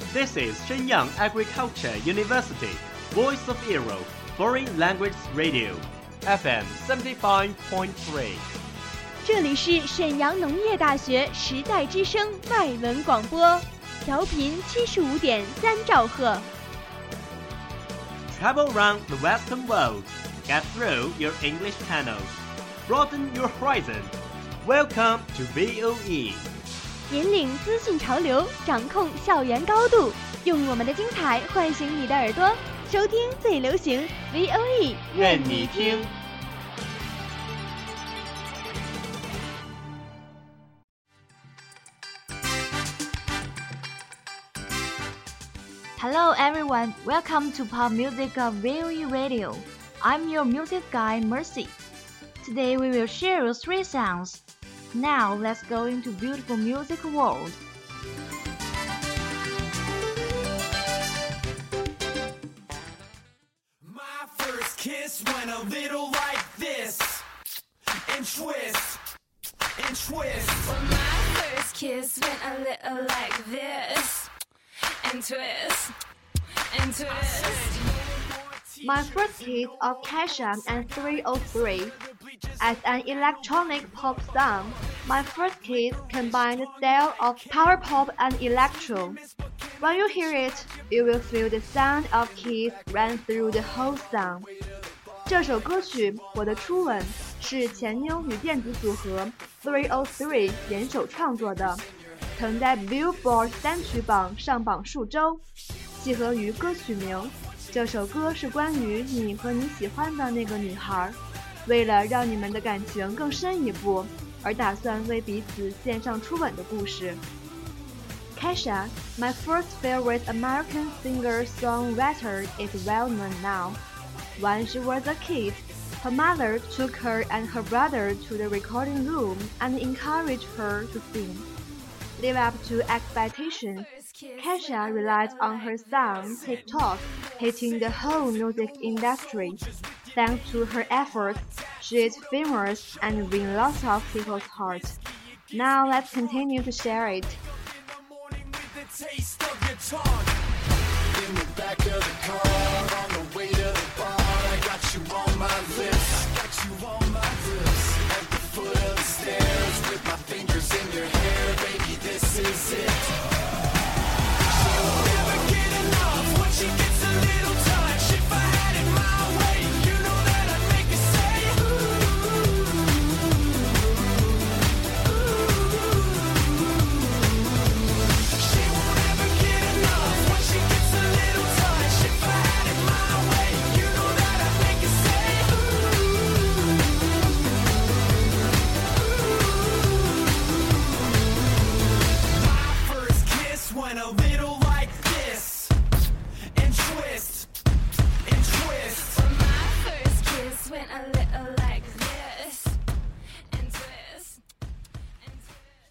This is Shenyang Agriculture University, Voice of Europe, Foreign Language Radio, FM 75.3。 这里是沈阳农业大学时代之声外文广播，调频75.3兆赫。 Travel around the Western world, get through your English channels, broaden your horizon. Welcome to VOE. 引领资讯潮流，掌控校园高度，用我们的精彩唤醒你的耳朵，收听最流行 VOE， 愿你听。 Hello everyone, welcome to Pop Music of VOE Radio. I'm your music guide Mercy. Today we will share 3 songs. Now let's go into beautiful music world. My first kiss went a little like this, and twist, and twist. Well, my first kiss went a little like this, and twist, and twist. My first kiss of Kesha and 303. As an electronic pop song, my first kiss combined the style of power pop and electro. When you hear it, you will feel the sound of kiss run through the whole song. 这首歌曲《我的初吻》是前妞与电子组合 303 联手创作的，曾在 Billboard 单曲榜上榜数周。契合于歌曲名，这首歌是关于你和你喜欢的那个女孩，为了让你们的感情更深一步，而打算为彼此献上初吻的故事。Kesha, my first favorite American singer-songwriter, is well known now. When she was a kid, her mother took her and her brother to the recording room and encouraged her to sing. Live up to expectations, Kesha relied on her song TikTok, hitting the whole music industry. Thanks to her efforts, she is famous and wins lots of people's hearts. Now let's continue to share it. Taste of your tongue in the back of the car on the way to the bar. I got you on my lips, I got you on my lips. At the foot of the stairs with my fingers in your hair, baby, this is it. She'll never get enough when she gets a little touch. If I had it my way, you know that I'd make her say ooh. She won't ever get enough when she gets a little touch. If I had it my way, you know that I'd make her say My first kiss went a little like this, and twist, and twist. Well, my first kiss went a little like this, and twist, and twist.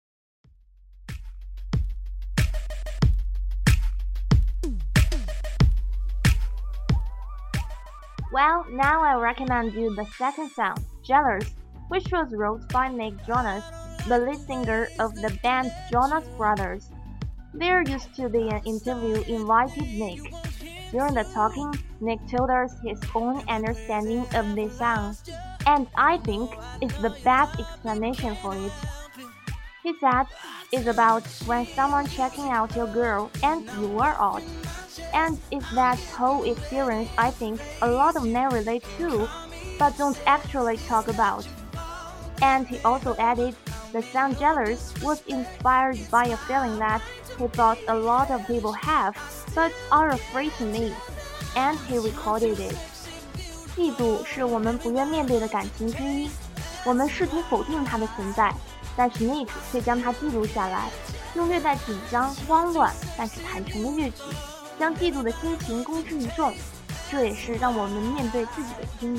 Well, now I recommend you the second song, Jealous, which was wrote by Nick Jonas, the lead singer of the band Jonas Brothers. There used to be an interview invited Nick. During the talking, Nick told us his own understanding of this song, and I think it's the best explanation for it. He said, it's about when someone checking out your girl and you are out. And it's that whole experience I think a lot of men relate to, but don't actually talk about. And he also added, the song Jealous was inspired by a feeling that he thought a lot of people have, but are afraid to meet. And he recorded it. 嫉妒是我们不愿面对的感情之一，我们试图否定它的存在，但是 Nick 却将它记录下来，用略带紧张、慌乱，但是坦诚的乐曲，将嫉妒的心情公之于众，这也是让我们面对自己的经历。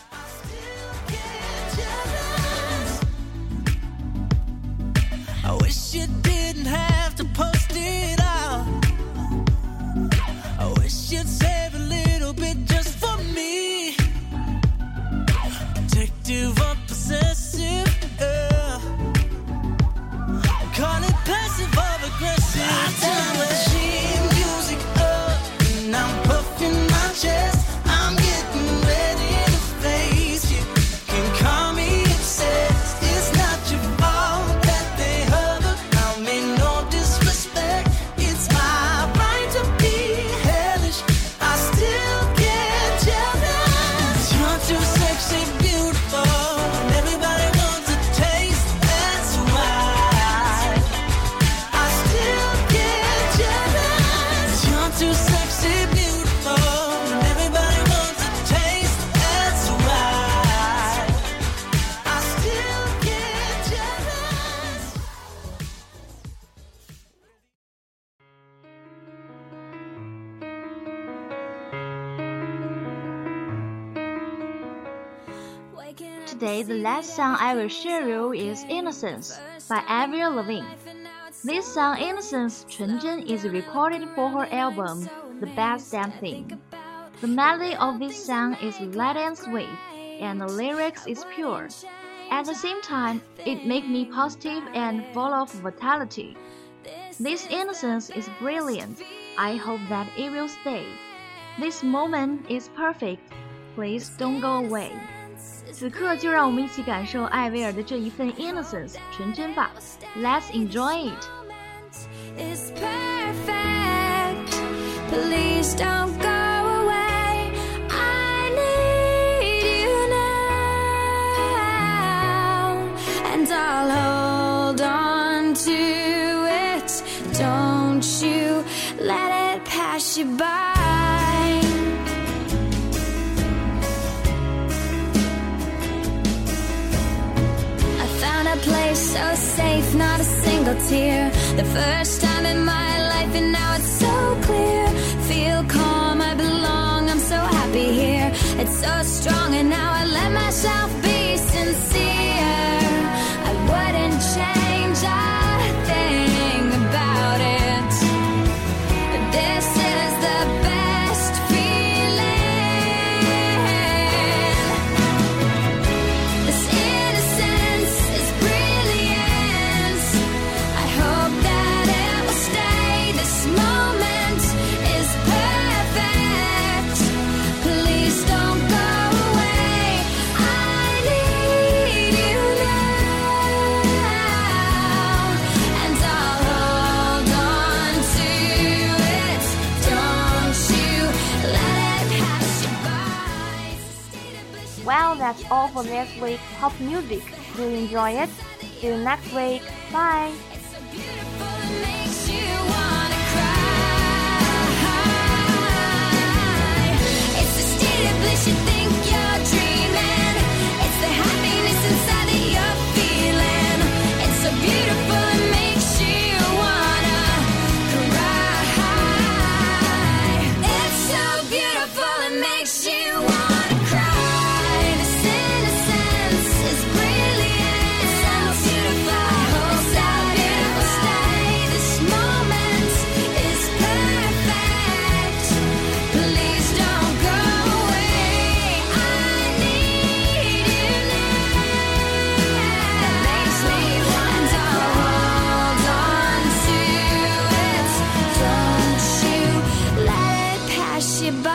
I wish you didn't have to post it out. I wish you'd save a little bit just for me. Protective or possessive, call it passive or aggressive. I tell her she today the last song I will share you is Innocence by Avril Lavigne. This song Innocence 纯真 is recorded for her album The Best Damn Thing. The melody of this song is light and sweet, and the lyrics is pure. At the same time, it makes me positive and full of vitality. This innocence is brilliant. I hope that it will stay. This moment is perfect. Please don't go away. 此刻就让我们一起感受艾薇儿的这一份 innocence 纯真吧。Let's enjoy it. It's perfect. Please don't go away. I need you now, and I'll hold on to it. Don't you let it pass you by. Place so safe, not a single tear. The first time in my life, and now it's so clear. Feel calm, I belong, I'm so happy here. It's so strong, and now I let myself be sincere. I wouldn't change a thing about it. This is the best feeling. This innocence is brilliant. I hope that it will stay. This moment is perfect. Please don't go away. I need you now, and I'll hold on to it. Don't you let it pass you by. Well, that's all for this week's pop music. Do you enjoy it? See you next week. Bye. It's so beautiful, it makes you wanna cry. It's the state of bliss you think you're dreaming. It's the happiness inside that you're feeling. It's so beautiful, it makes you wanna cry. It's so beautiful, it makes you wanna cry. This innocence is brilliant. It's so beautiful. I hope that it will stay. This moment is perfect. Please don't go away. I need you now. It makes me want to hold on to it. Don't you let it pass you by.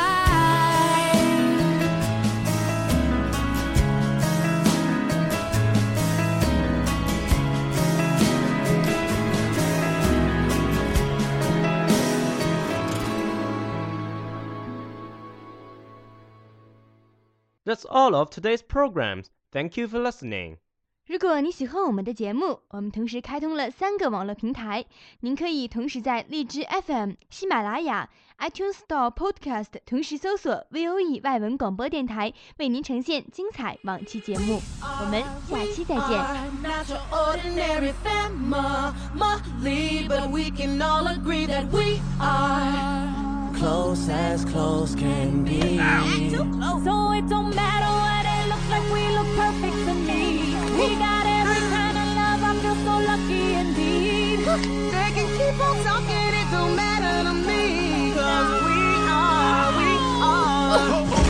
That's all of today's programs. Thank you for listening. 如果你喜欢我们的节目，我们同时开通了3个网络平台，您可以同时在荔枝 FM、喜马拉雅、iTunes Store Podcast 同时搜索 VOE 外文广播电台，为您呈现精彩往期节目。我们下期再见。 Not your ordinary family, but we can all agree that we are close as close can be. So it don't matter what it looks like, we look perfect to me. We got every kind of love, I feel so lucky indeed. They can keep on talking, it don't matter to me. 'Cause we are.